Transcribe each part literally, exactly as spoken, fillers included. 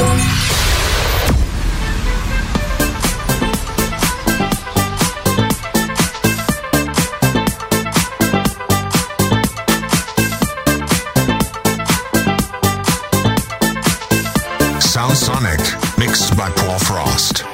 Sound Sonic, mixed by Paul Frost.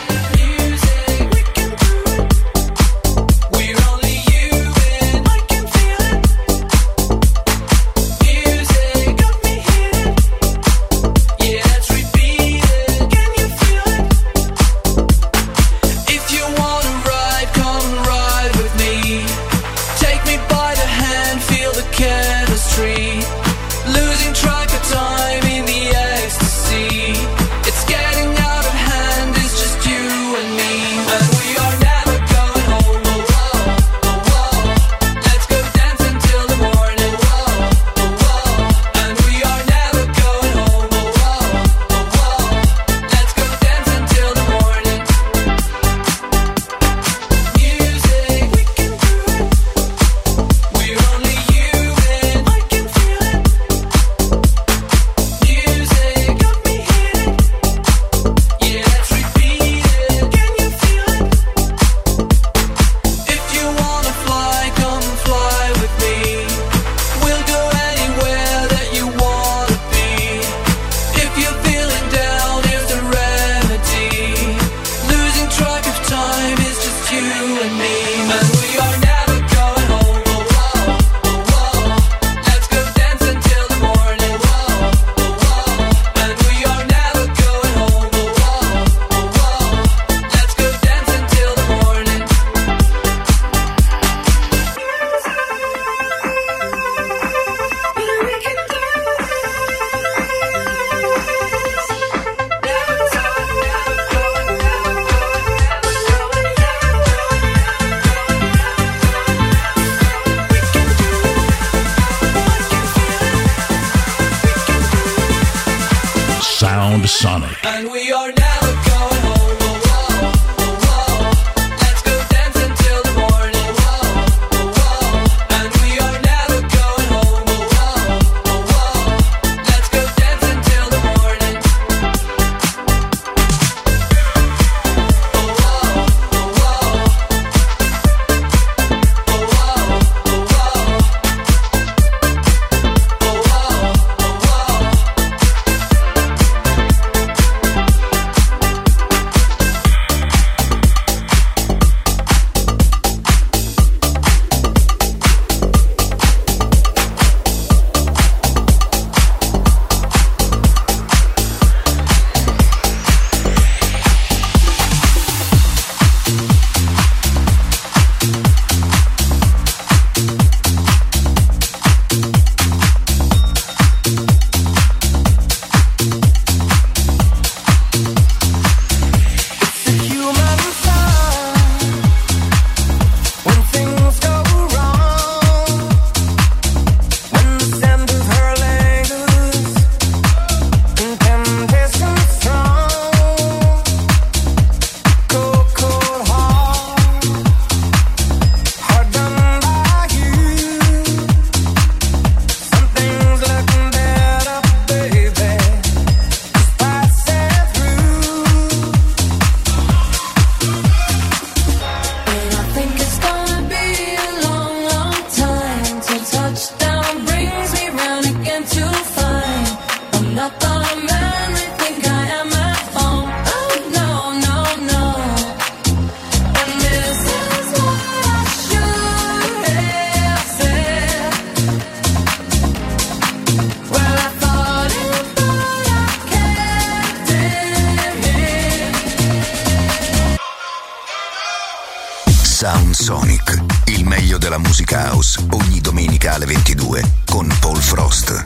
Sound Sonic. And we are never going home. Oh, oh, oh, oh. Let's go dance until the morning. Oh, oh, oh. And we are never going home. Oh, oh, oh, oh. Let's go dance until the morning. Oh, oh, oh, oh. Oh, oh, oh, oh. Oh, oh, oh, oh. Sound Sonic, il meglio della musica house, ogni domenica alle ventidue con Paul Frost.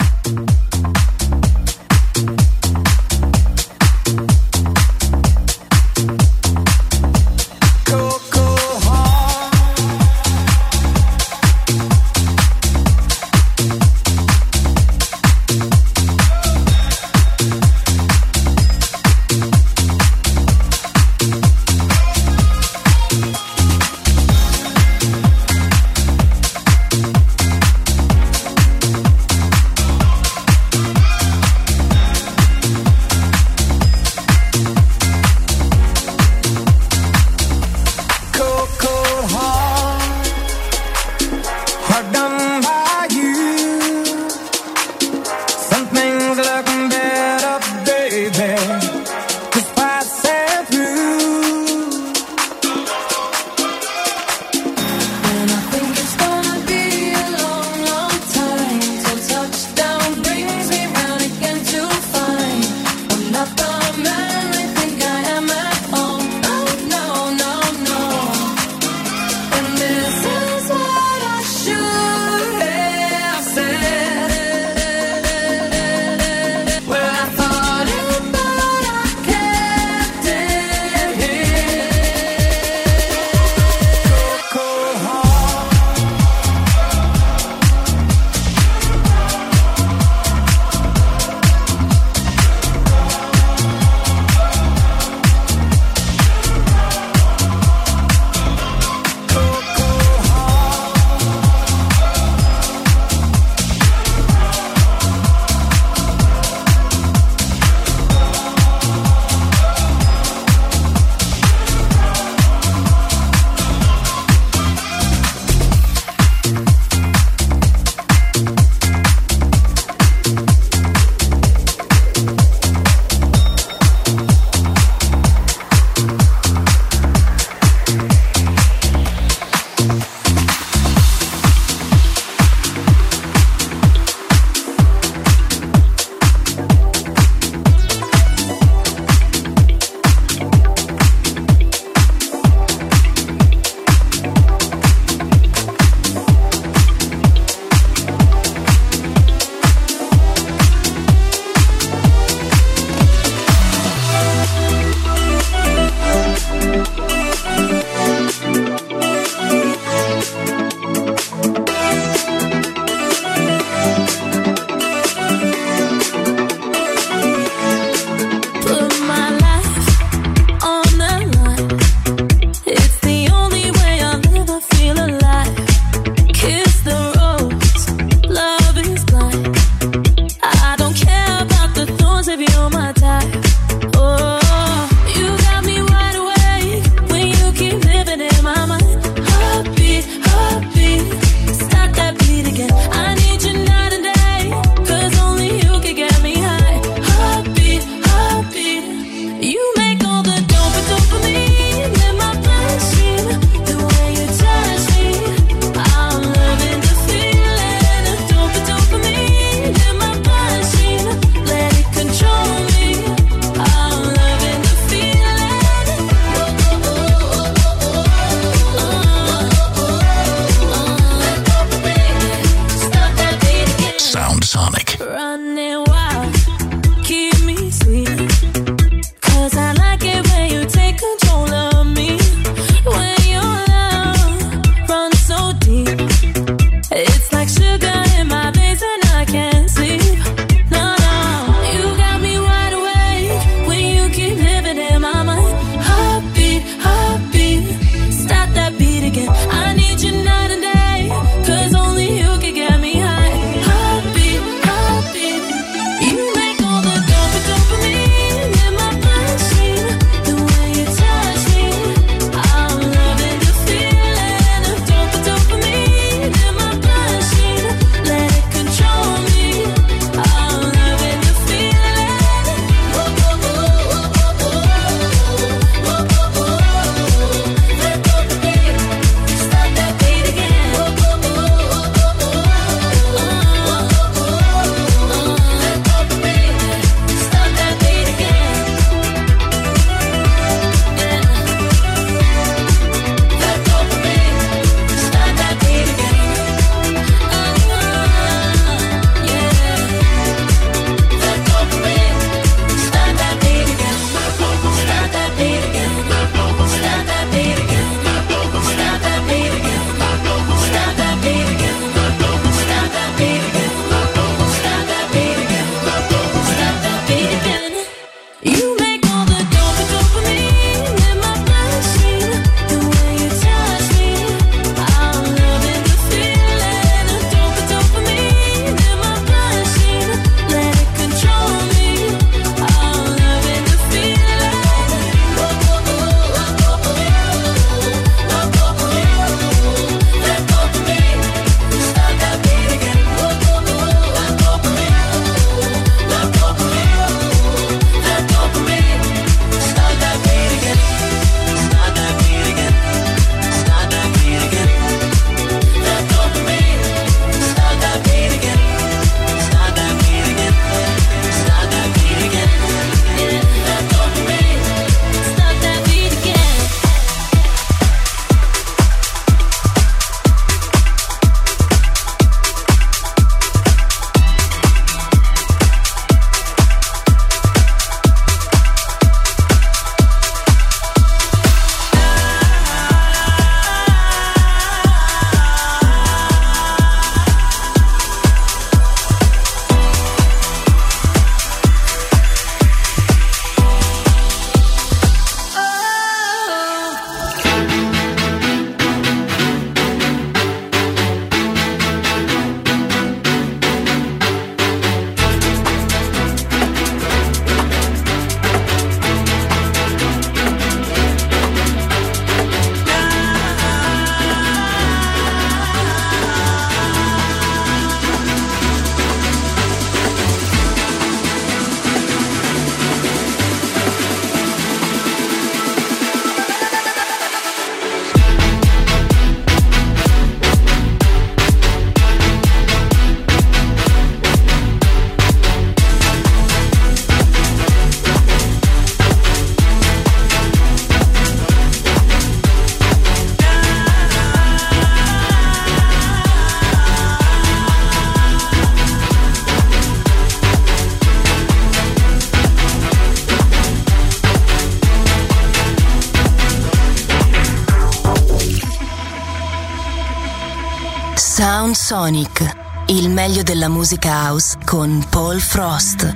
Sound Sonic, il meglio della musica house con Paul Frost.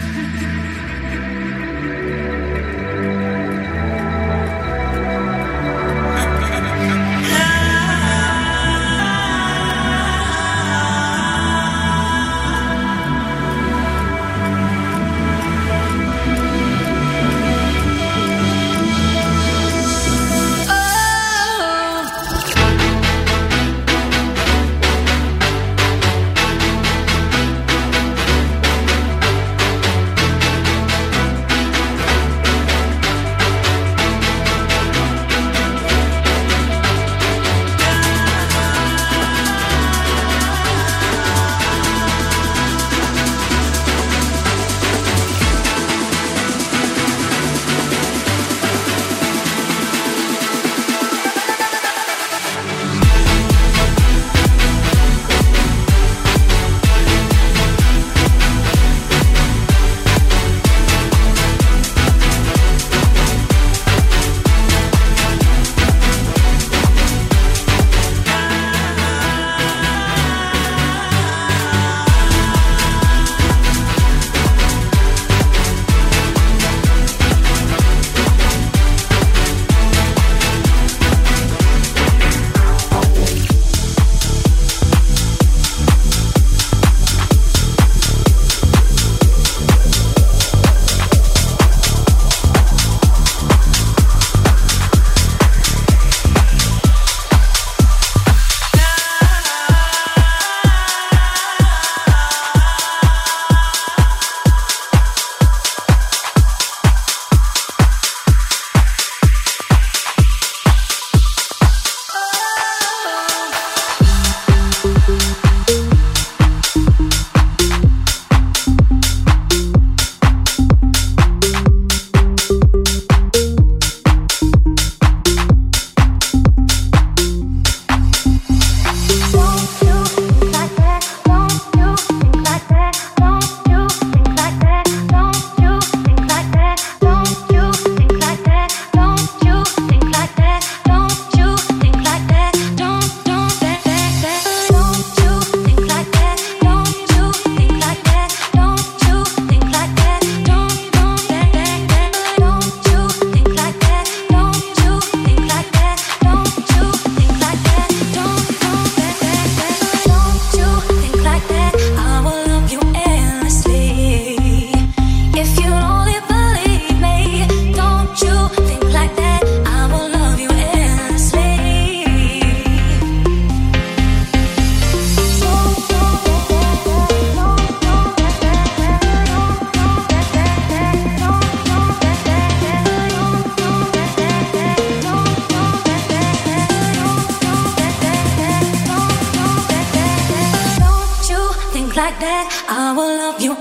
Like that, I will love you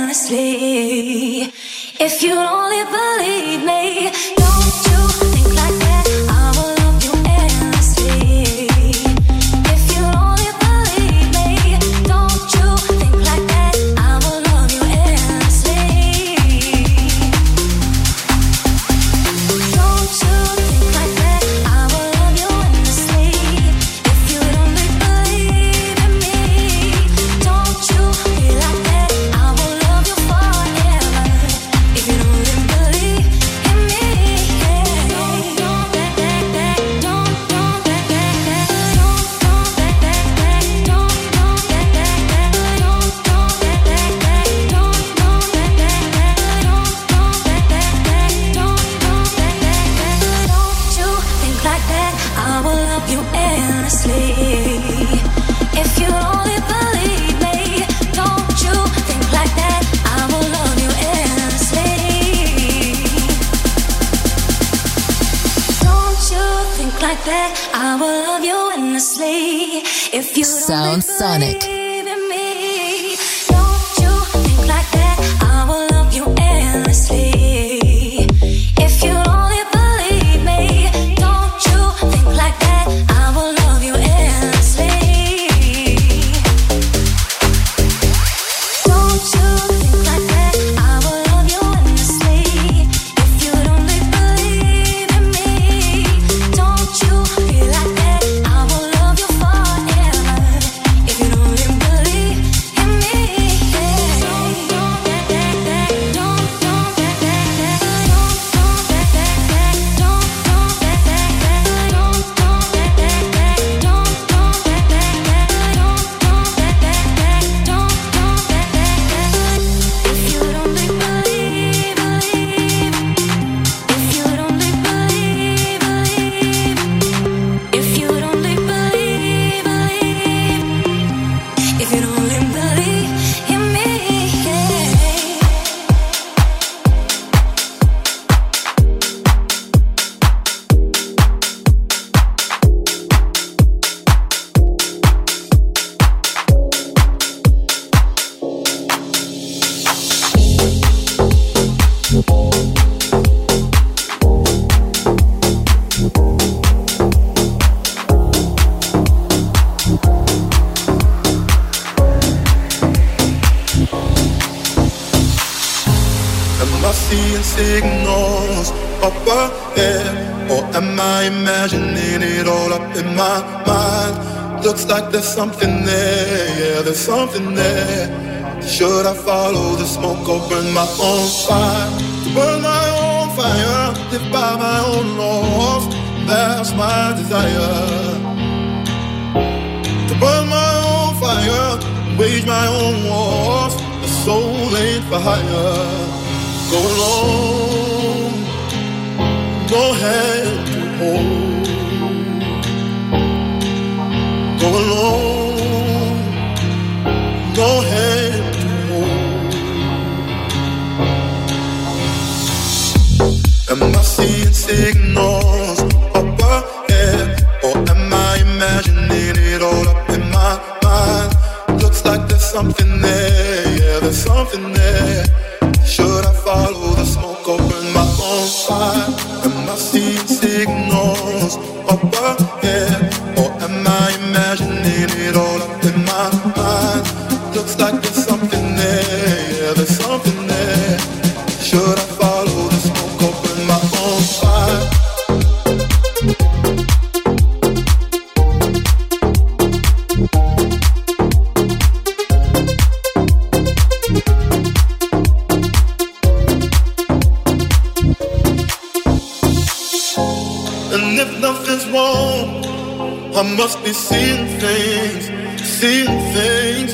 endlessly. If you only believe me, don't you think like that, I will love you endlessly. If you only believe me, don't you think like that, I will love you endlessly. Don't you think like that, I will love you endlessly. If you only believe in me, don't you be like that, I will love you forever. If you only believe in me, yeah. Don't, don't, that, that, that, don't, don't, that, that, that, don't, don't, that, that, that, don't, don't, that, that, that, don't, don't, that, that, that, don't, don't, that, that, that, don't, don't, that, that, that, don't, don't, that, that, that, don't you think like that, I will love you endlessly. If you only believe me, don't you think like that, I will love you endlessly. Don't you think like that, I will love you endlessly. If you Sound Sonic. believe in me, don't you think like that, I will love you endlessly. If you only believe me, don't you think like that, I will love you endlessly. Don't you think like that, I will love you endlessly. If you only believe in me, don't you be like that, I will love you forever. signals up ahead? Or am I imagining it all up in my mind? Looks like there's something there, yeah, there's something there. Should I follow the smoke or burn my own fire? Burn my own fire, live by my own laws. That's my desire. To burn my own fire, wage my own wars. The soul ain't for hire. Go alone, no hand to hold. Go alone, no hand to hold. Am I seeing signals up ahead? Or am I imagining it all up in my mind? Looks like there's something there, yeah, there's something there. Should I follow the smoke or burn my own fire? Am I seeing signals up ahead? Or am I imagining it all up in my mind? Looks like there's something there, yeah, there's something there. Should I follow the smoke or burn my own fire? And if nothing's wrong, I must be seeing things, seeing things.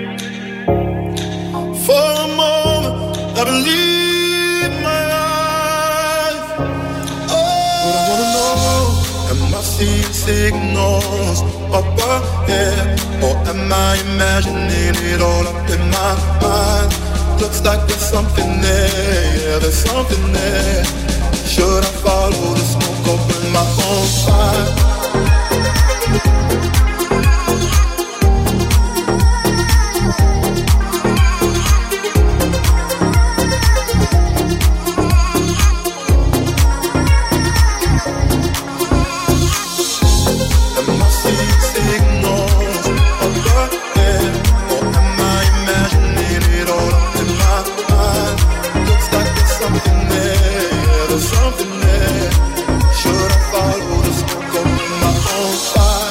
For a moment, I believe my eyes. Oh, but I wanna know, am I seeing signals up ahead? Or am I imagining it all up in my mind? Looks like there's something there, yeah, there's something there. Should I follow the smoke or burn my own fire? Am I seeing signals up ahead? Or am I imagining it all up in my mind? Looks like there's something there, yeah, there's something there. Should I follow the smoke or burn my own fire?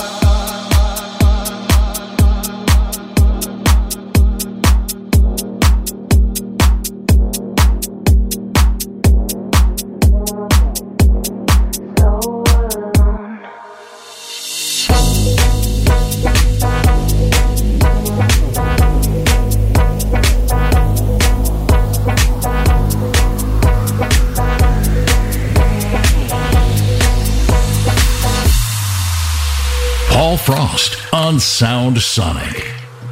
Paul Frost on Sound Sonic.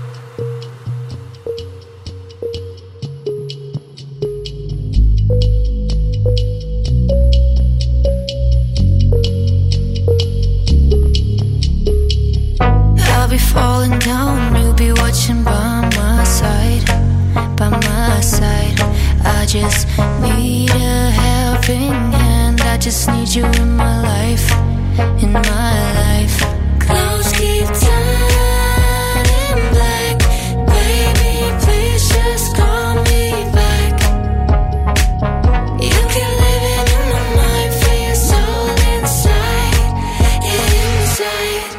I'll be falling down, you'll be watching by my side, by my side. I just need a helping hand. I just need you in my life, in my life. Clouds keep turning black. Baby, please just call me back. You keep living in my mind, feel your soul inside, inside.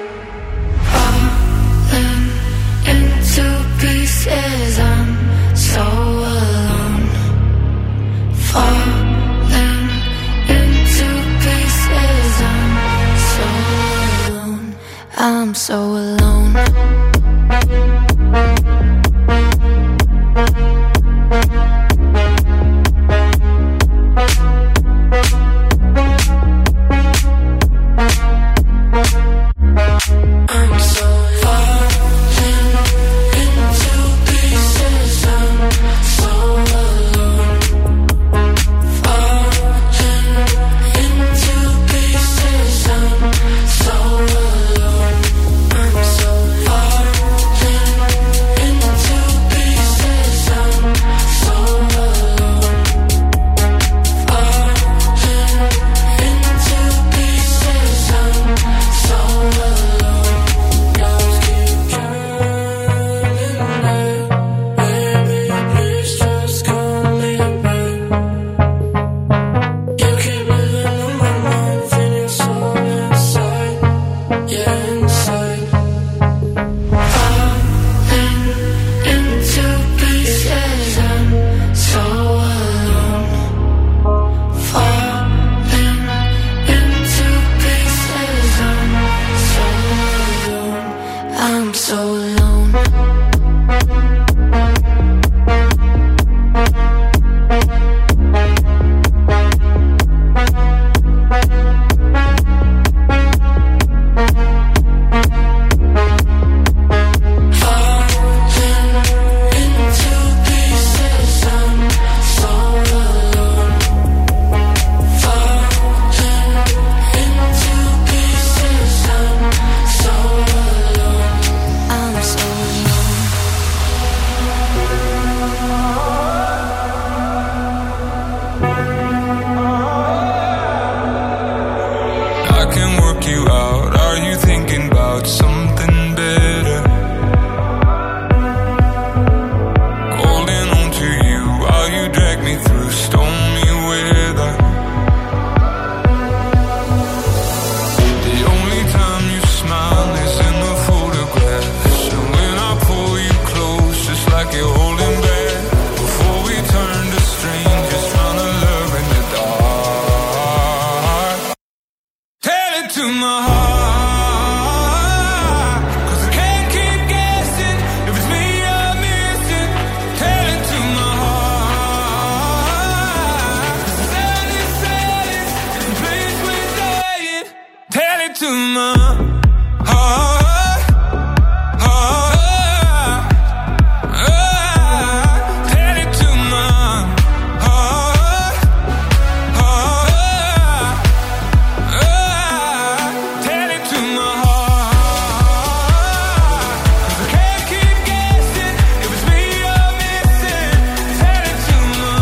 Falling into pieces, I'm so alone. Falling into pieces, I'm so alone. I'm so alone. I'm so falling into pieces. I'm so alone. Falling into pieces. I'm so alone. I'm to my heart, 'cause I can't keep guessing if it's me you're missing. Tell it to my heart, 'cause the sound is silence, it's the place we're dying. Tell it to my heart, heart, heart. Tell it to my heart, heart, heart. Tell it to my heart, 'cause I can't keep guessing if it's me you're missing. Tell it to my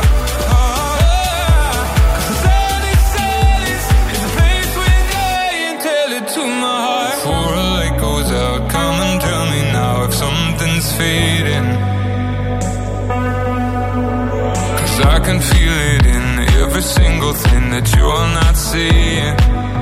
heart, 'cause the sound is silence, it's the place we're dying. Tell it to my heart. Before a light goes out, come and tell me now if something's fading, 'cause I can feel it in every single thing that you're not seeing.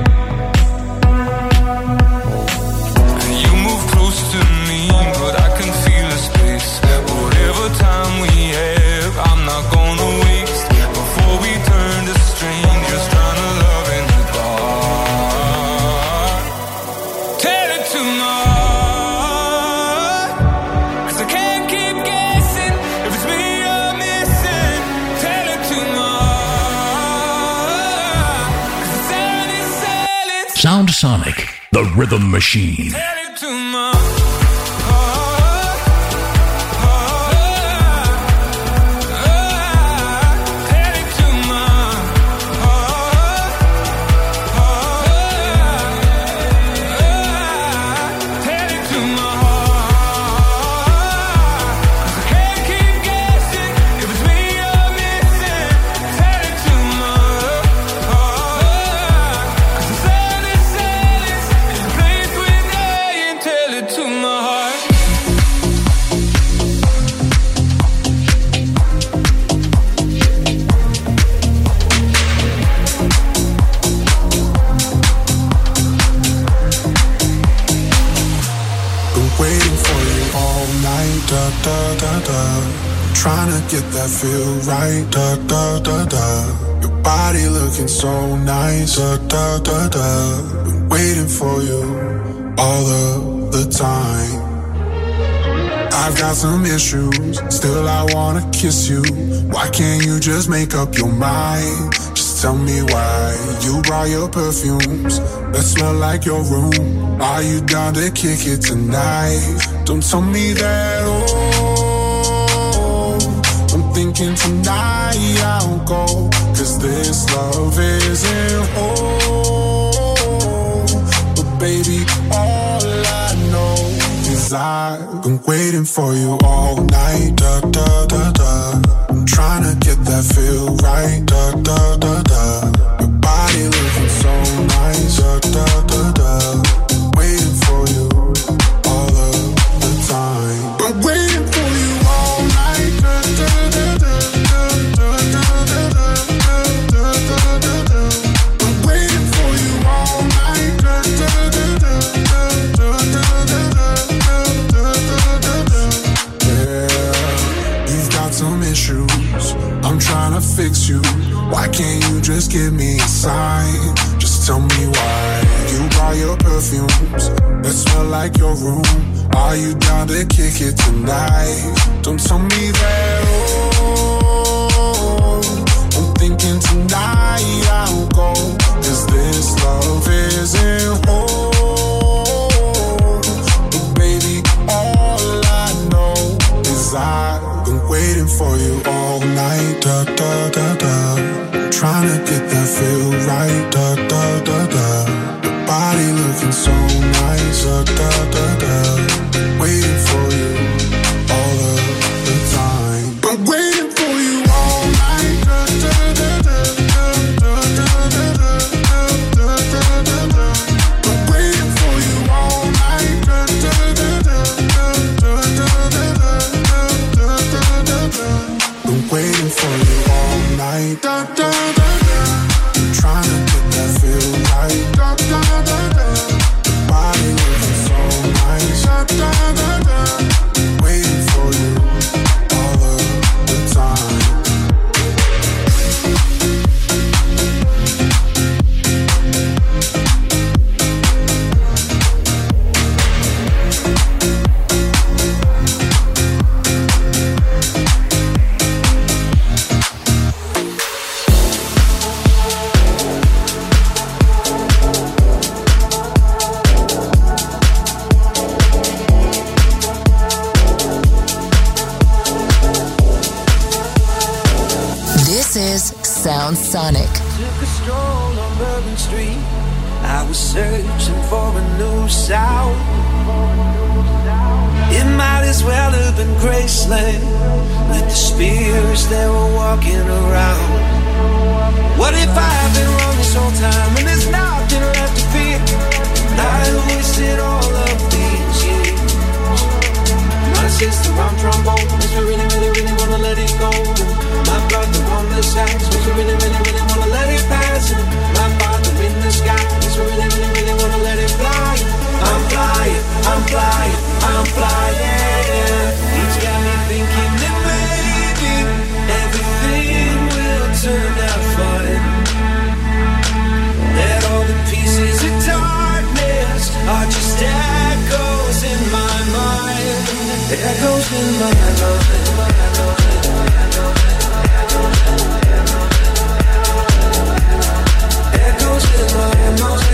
And you move close to me, but I can feel the space. Whatever time we have, I'm not gonna waste before we turn to strangers trying to love in the dark. Tell it to my heart, 'cause I can't keep guessing if it's me you're missing. Tell it to my heart, 'cause the sound is silence. Sound Sonic, the rhythm machine. Tell it to my heart, heart, heart. Tell it to my heart, heart, heart. Tell it to my heart, 'cause I can't keep guessing if it's me you're missing. Tell it to my heart, 'cause the sound is silence, it's the place we're dying. Tell it to my heart. Been waiting for you all night, da da da da. Trying to get that feel right, da da da da. Your body looking so nice, da da da da. Been waiting for you all of the time. I've got some issues, still I wanna kiss you. Why can't you just make up your mind? Just tell me why. You brought your perfumes that smell like your room. Are you down to kick it tonight? Don't tell me that, oh, I'm thinking tonight I'll go, 'cause this love isn't whole. But baby, all I know is I've been waiting for you all night, da da da da. I'm trying to get that feel right, da da da da. Your body looking so nice, da da da da. Waiting for you all of the time. Been waiting for you all night, da da da da da da da da da da da da. Been waiting for you all night, da da da da da da da da da da. Yeah, you've got some issues, I'm trying to fix you. Why can't you just give me a sign? Just tell me why. You brought your perfumes that smell like your room. Are you down to kick it tonight? Don't tell me that, oh, I'm thinking tonight I'll go, 'cause this love isn't whole. But baby, all I know is I've been waiting for you all night, da da da da. Trying to get that feel right, da da da da. Your body looking so nice, da da da da. Waiting for you all of the time. Been waiting for you all night, da da da da da da da da da da da da. Been waiting for you all night, da da da da da da da da da da da. Been waiting for you all night, da da da da. Trying to get that Sonic. Took a stroll on Bourbon Street. I was searching for a new sound. It might as well have been Graceland with the spirits that were walking around. What if I've been wrong this whole time and there's nothing left to fear? And I wasted all of these years. My sister on trombone, makes me really, really, really wanna let it go. My brother on the sax, makes me really, really, really wanna let it pass. And my father in the sky, makes me really, really, really wanna let it fly. I'm flying, I'm flying, I'm flying. He's got me thinking that maybe everything will turn out fine. That all the pieces of darkness are just echoes in my mind. Echoes in my mind. Echoes in my mind.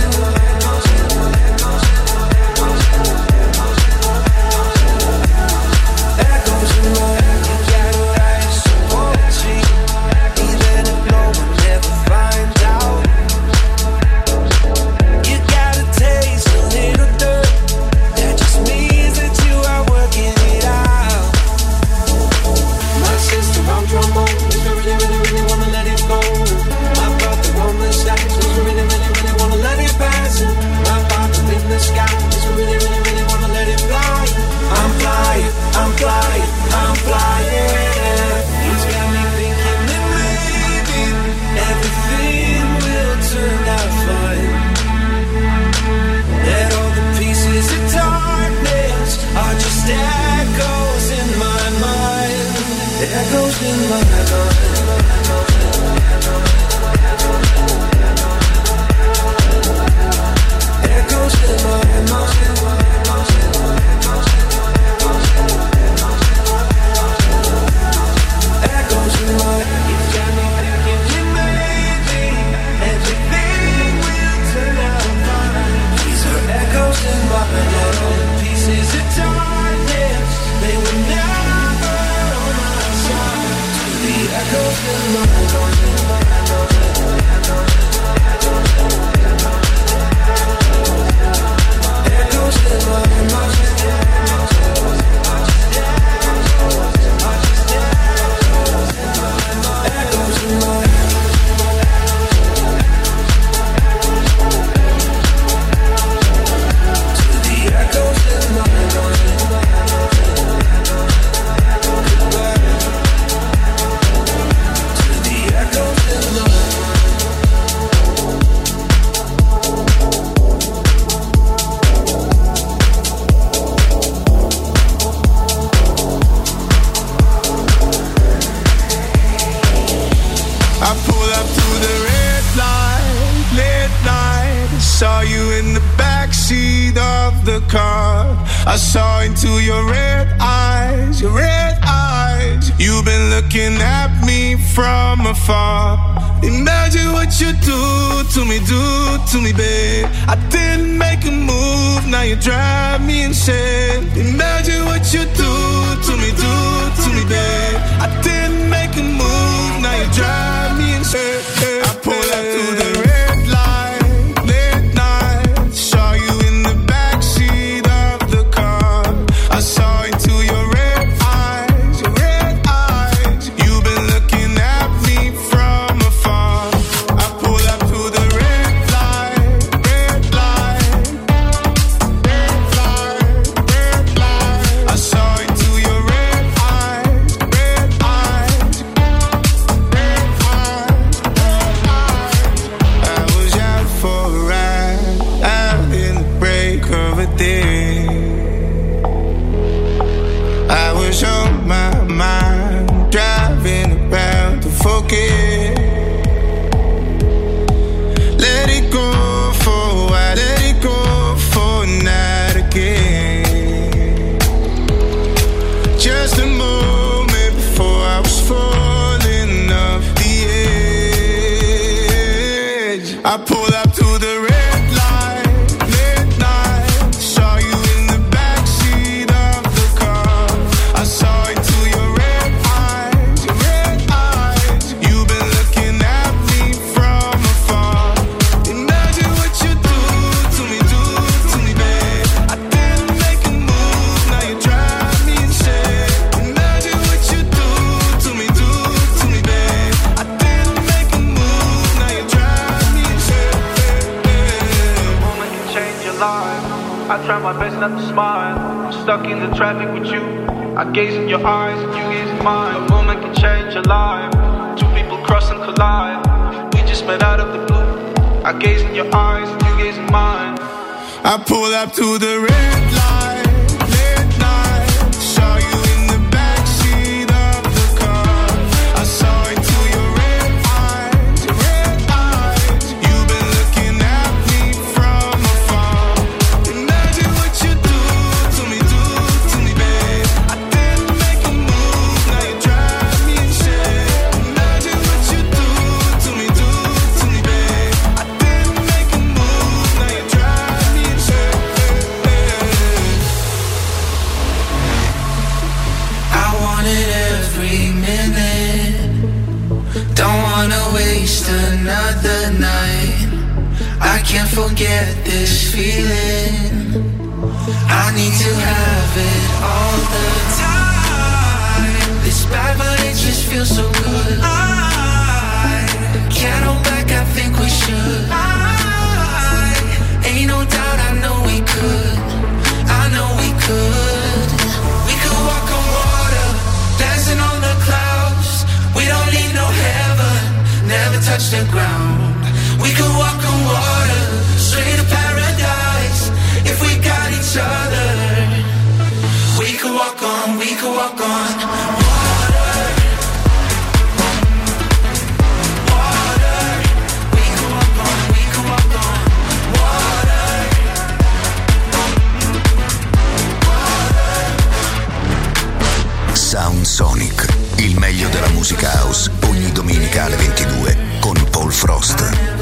Red eyes, you've been looking at me try my best not to smile. I'm stuck in the traffic with you. I gaze in your eyes and you gaze in mine. A moment can change your life. Two people cross and collide. We just met out of the blue. I gaze in your eyes and you gaze in mine. I pull up to the red light, late night. Saw you in the backseat of the car. I saw into your red eyes, red eyes. You've been looking at me from afar. Imagine what you do to me, do to me, babe. I didn't make a move, now you drive me insane. Imagine what you do to me, do to me, babe. I didn't make a move, now you drive me insane. I want it every minute. Don't wanna waste another night. I can't forget this feeling. I need to have it all the time. It's bad but it just feels so good. I can't hold back, I think we should. I ain't no doubt, I know we could. I know we could. We could walk on water, dancing on the clouds. We don't need no heaven, never touch the ground. We could walk on water, straight to paradise. If we got each other, we could walk on, we could walk on water. Water. We could walk on, we could walk on water. Sound Sonic, il meglio della musica house, ogni domenica alle ventidue con Paul Frost.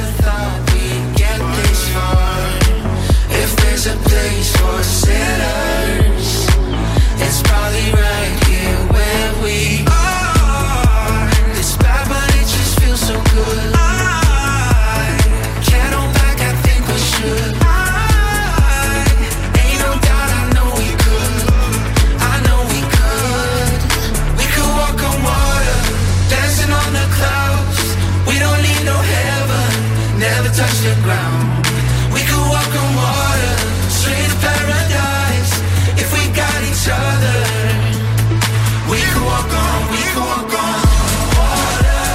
If there's a place for sinners, it's probably right here where we are. It's bad but it just feels so good. I can't hold back, I think we should. I ain't no doubt, I know we could. I know we could. We could walk on water, dancing on the clouds. We don't need no heaven, never touch the ground. We could walk on water, straight to paradise. If we got each other, we could walk on, we could walk on water.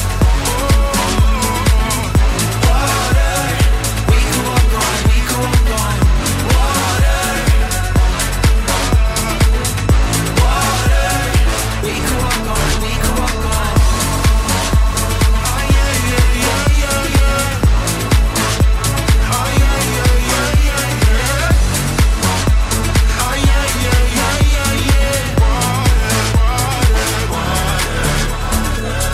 Water. We could walk on, we could walk on water. Water. We could walk on, we could walk on. Oh yeah, yeah, yeah, yeah, yeah. Oh yeah, yeah, yeah, yeah, yeah. Oh yeah, yeah, yeah, yeah, yeah. Water, water, water.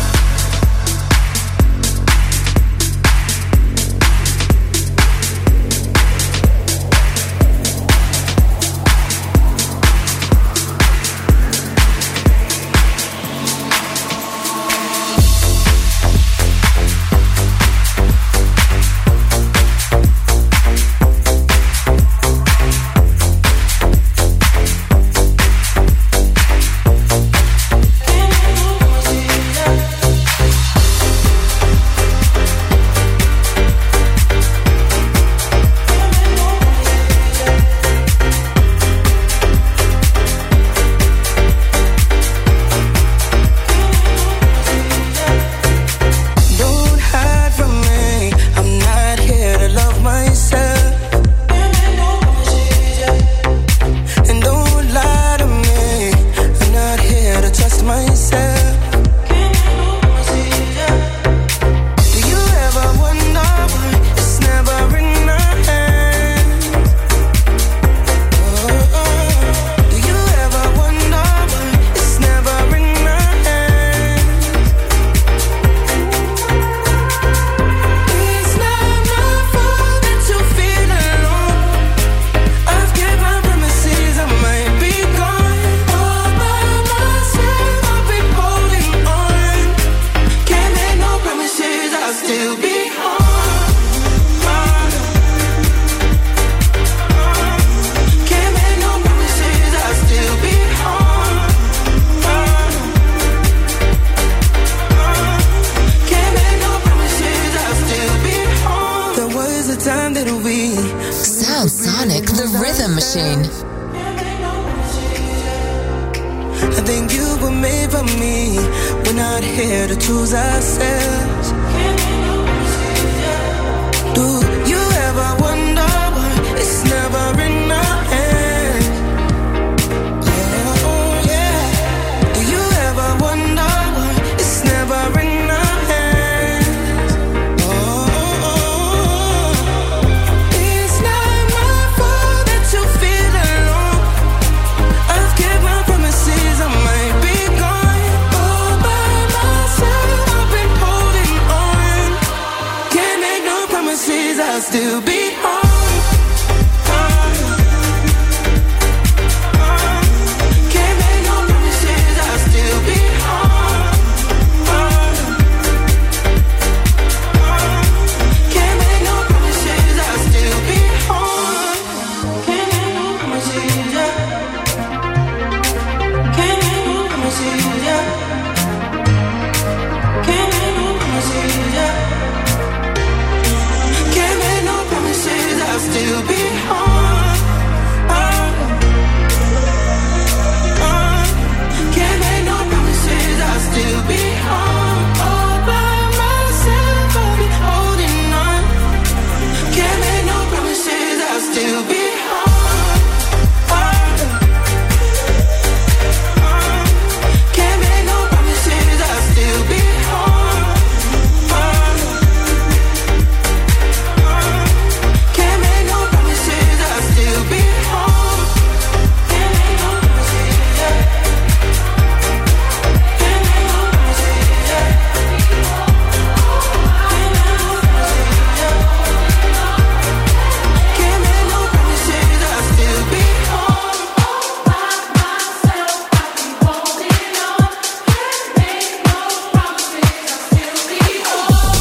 Don't hide from me, I'm not here to love myself. And don't lie to me, I'm not here to trust myself. Do you ever wonder why it's never in our hands? Oh, do you ever wonder why it's never in our hands? It's not my fault that you feel alone. I've kept my promises, I might be gone. All by myself, I've been holding on. Can't make no promises, I'll still be home. Can't make no promises, I'll still be home. Can't make no promises, I'll still be home. There was a time that we Sound Sonic, the rhythm machine. I think you were made for me. We're not here to choose ourselves. Do you ever wonder why it's never in our hands? Oh yeah. Do you ever wonder why it's never in our hands? Oh, it's not my fault that you feel alone. I've kept my promises, I might be gone all by myself. I've been holding on. Can't make no promises, I'll still be home. Can't make no promises, I'll still be home. Can't make no promises, I'll still be home. Can't make no promises, yeah. Can't make no promises, yeah. Can't make no promises, yeah. Can't make no promises, I'll still be home. Can't make no promises, I'll still be home. All by myself, I'll be holding on. Can't make no promises, I'll still be home. Can't make no promises, I'll still be home. Can't make no promises, I'll still be home. Can't make no promises, yeah. Can't make no promises, yeah. Can't make no promises, yeah. Can't make no promises, I'll still be home. All by myself, I'll be holding on. Can't make no promises, I'll still be home.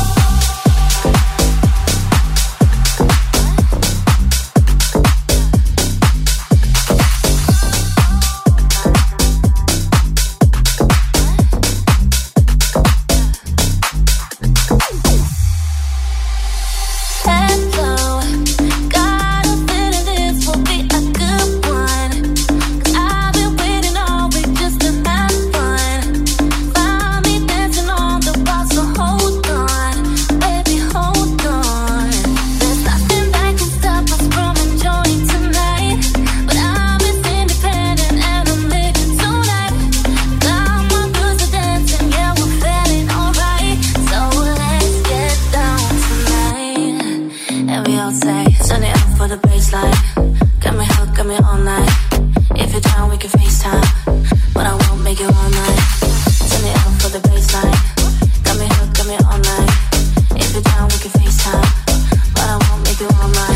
Hello, got a feeling this will be a good one. 'Cause I've been waiting all week just to have fun. Find me dancing on the wall, so hold on, baby, hold on. There's nothing that can stop us from enjoying tonight. But I'm as independent and I'm living tonight. Got my girls are dancing, yeah, we're feeling alright. So let's get down tonight. And we all say, turn it up for the baseline. Got me hooked, got me all night. If you're down, we can FaceTime, but I won't make you all night. Turn it up for the baseline. Got me hooked, got me all night. If you're down, we can FaceTime, but I won't make you all night.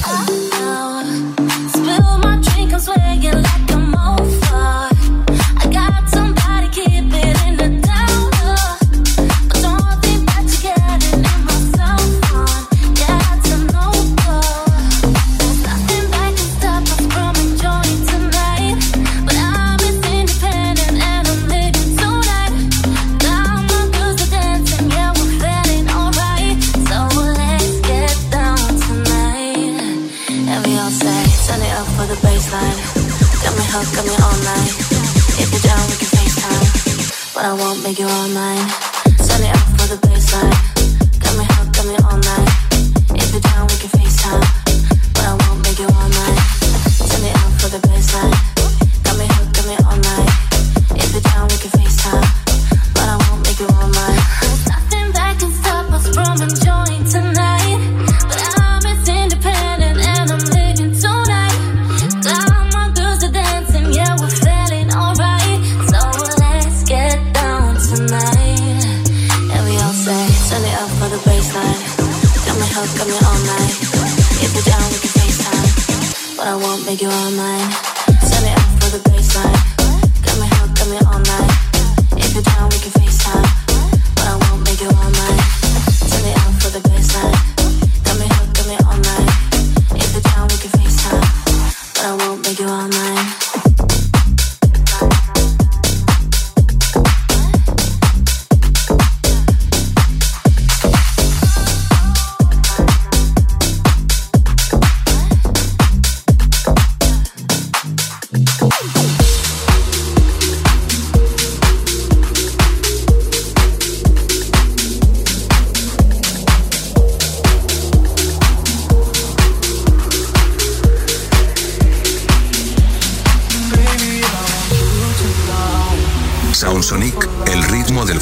Spill my drink, I'm swaying like I'm over. I got somebody keep it in the down low. But don't think that you're getting in my cell phone. Yeah, it's a no-go. There's nothing that can stop us from enjoying tonight. But I'm as independent and I'm living tonight. Got my girls are dancing, yeah, we're feeling alright. So let's get down tonight. And we all say, turn it up for the baseline. Got me hooked, got me all night. If you're down, we can FaceTime, but I won't make you all mine. Turn it up for the baseline. Got me hooked, got me all night. If you're down, we can FaceTime, but I won't make you all mine. Turn it up for the baseline. Got me hooked, got me all night. If you're down, we can FaceTime, but I won't make you all mine. There's nothing that can stop us from enjoying tonight. But I'm as independent and I'm living tonight. Got my girls are dancing, yeah, we're feeling alright. So let's get down tonight. And we all say, turn it up for the baseline. Got me hooked, got me all night. If you're down, we can FaceTime, but I won't make you all mine. Turn it up for the baseline. Got me hooked, got me all night. If you're down, we can FaceTime, but I won't make you all mine. Turn it up for the baseline. Got me hooked, got me all night. If you're down, we can FaceTime, but I won't make you all mine.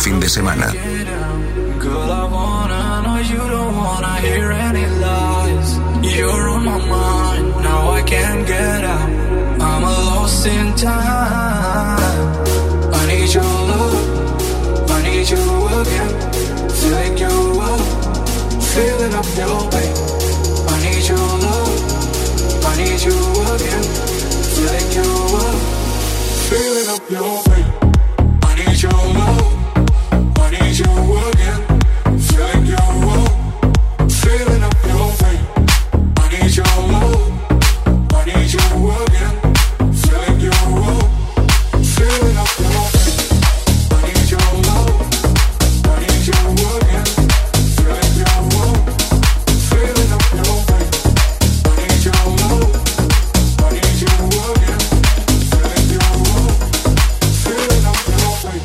fin de semana. Girl, I wanna know you don't wanna hear any lies. You're on my mind, now I can't get out. I'm lost in time. I need your love, I need you again. Feeling you up, feeling up your way. I need your love, I need you again. Feeling you up, feeling up your way. I need your love, I need you again. Feeling you up, feeling up your way. I need your love, I need you again. Feeling you up, feeling up your way. I need your love, I need you again. Feeling you up, feeling up your way. I need your love, I need you again. Feeling you up, feeling up your way.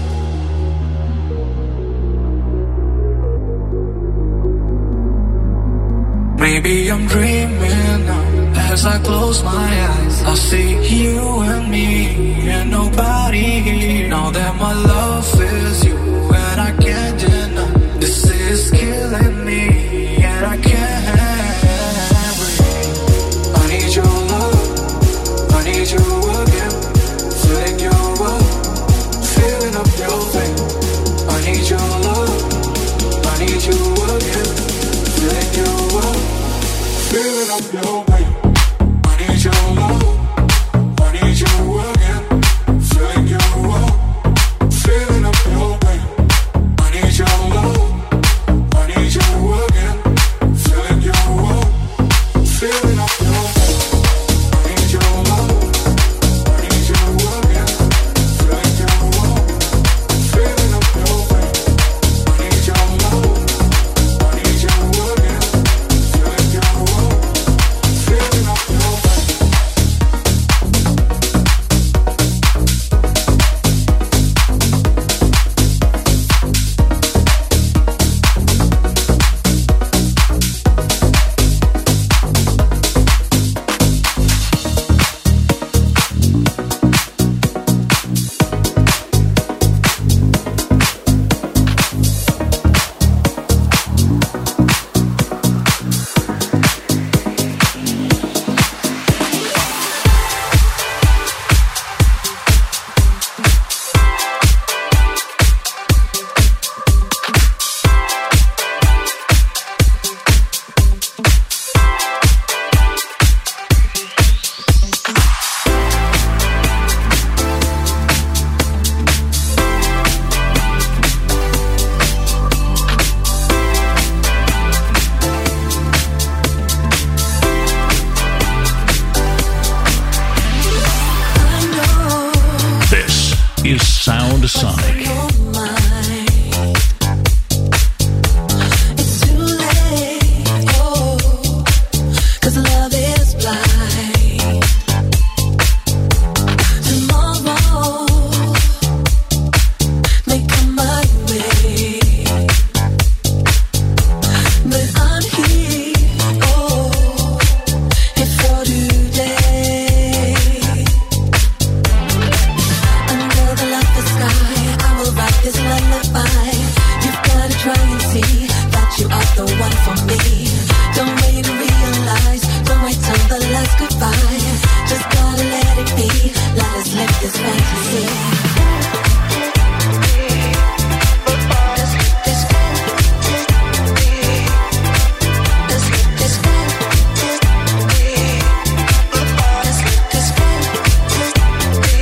Maybe I'm dreaming now. As I close my eyes, I see you and me and nobody here. Now that my love is you and I can't deny. This is killing me and I can't breathe. I need your love, I need you again. Feeling you up, feeling up your way. I need your love, I need you again. Feeling you up, feeling up your way. I need your love, I need you again. Feeling you up, feeling up your way. I need your love, I need you again. Feeling you up, feeling up your way. I need your love, I need you again. Feeling you up, feeling up your way. I need your love, I need you again. Feeling you up, feeling up your way. This is Sound Sonic. It's too late, oh, 'cause love is blind. Tomorrow may come my way, but I'm here, oh, here for today. Under the laughing sky, I will write this lullaby. You've gotta try and see that you are the one for me. Don't wait to realize, don't wait till the last goodbye. Just gotta let it be, let us live this fantasy. Let's live this fantasy. Let's live this fantasy. Let's live this fantasy.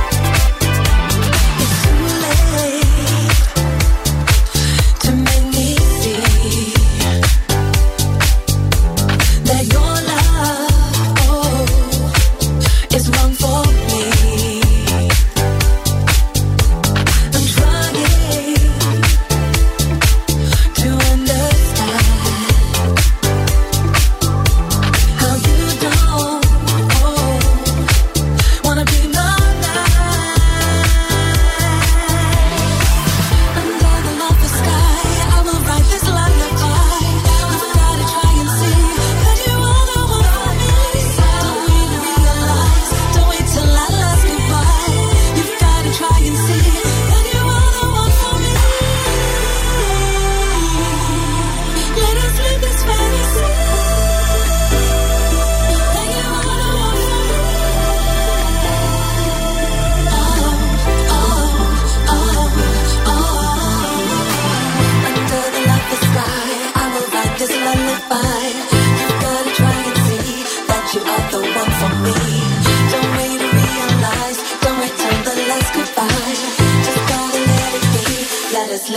It's too late to make me see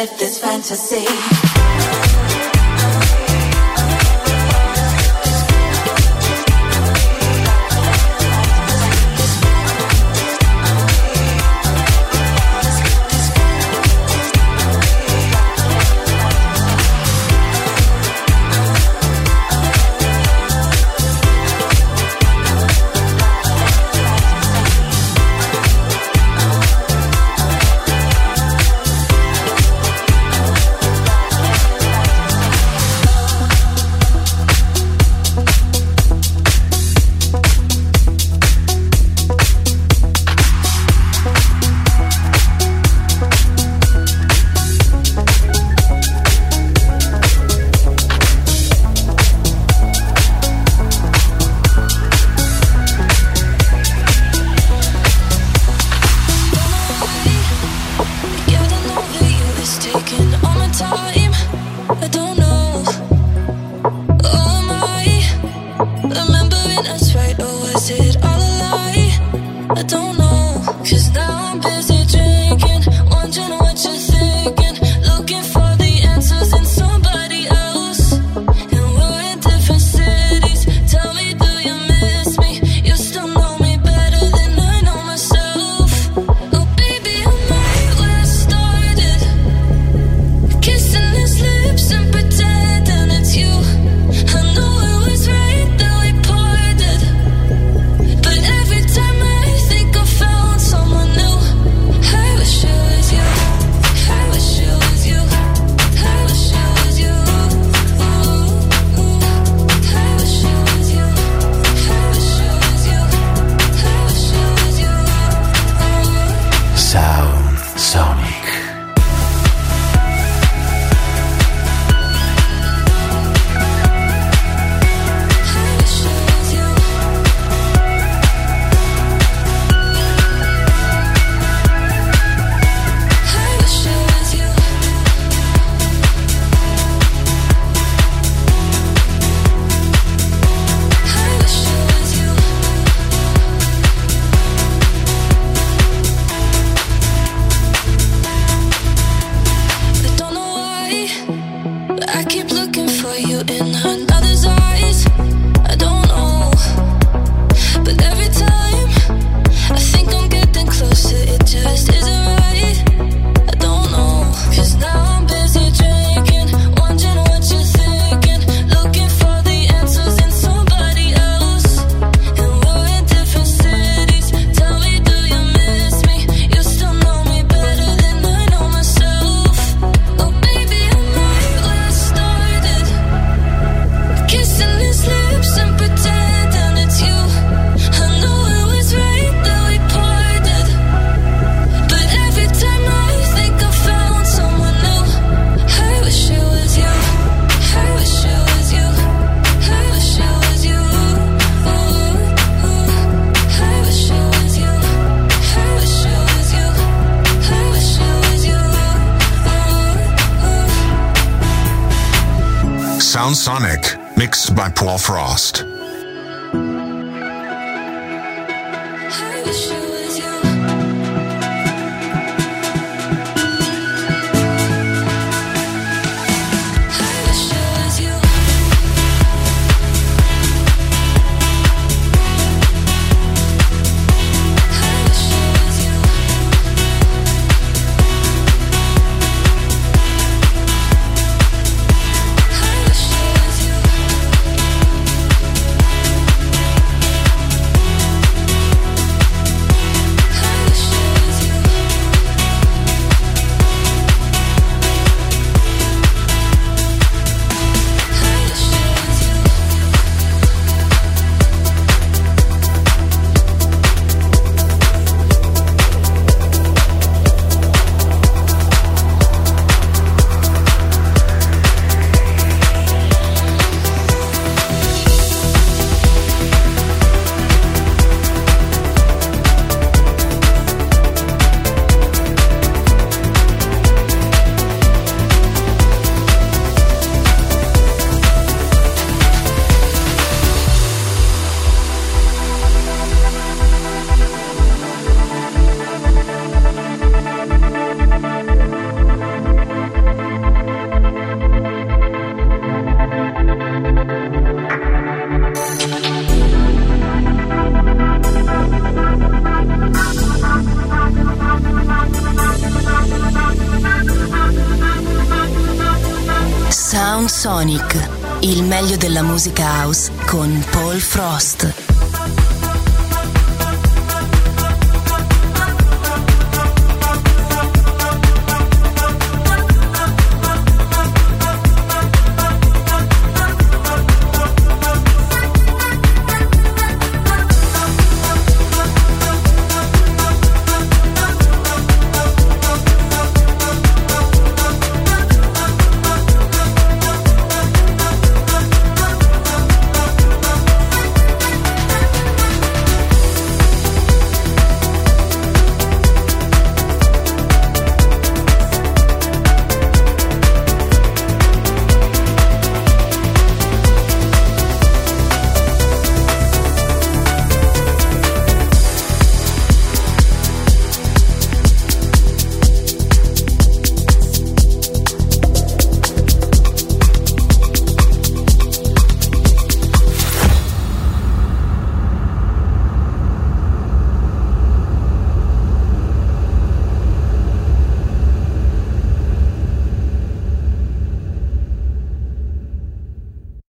live this fantasy. Sound Sonic, mixed by Paul Frost. I Sonic, il meglio della musica house con Paul Frost.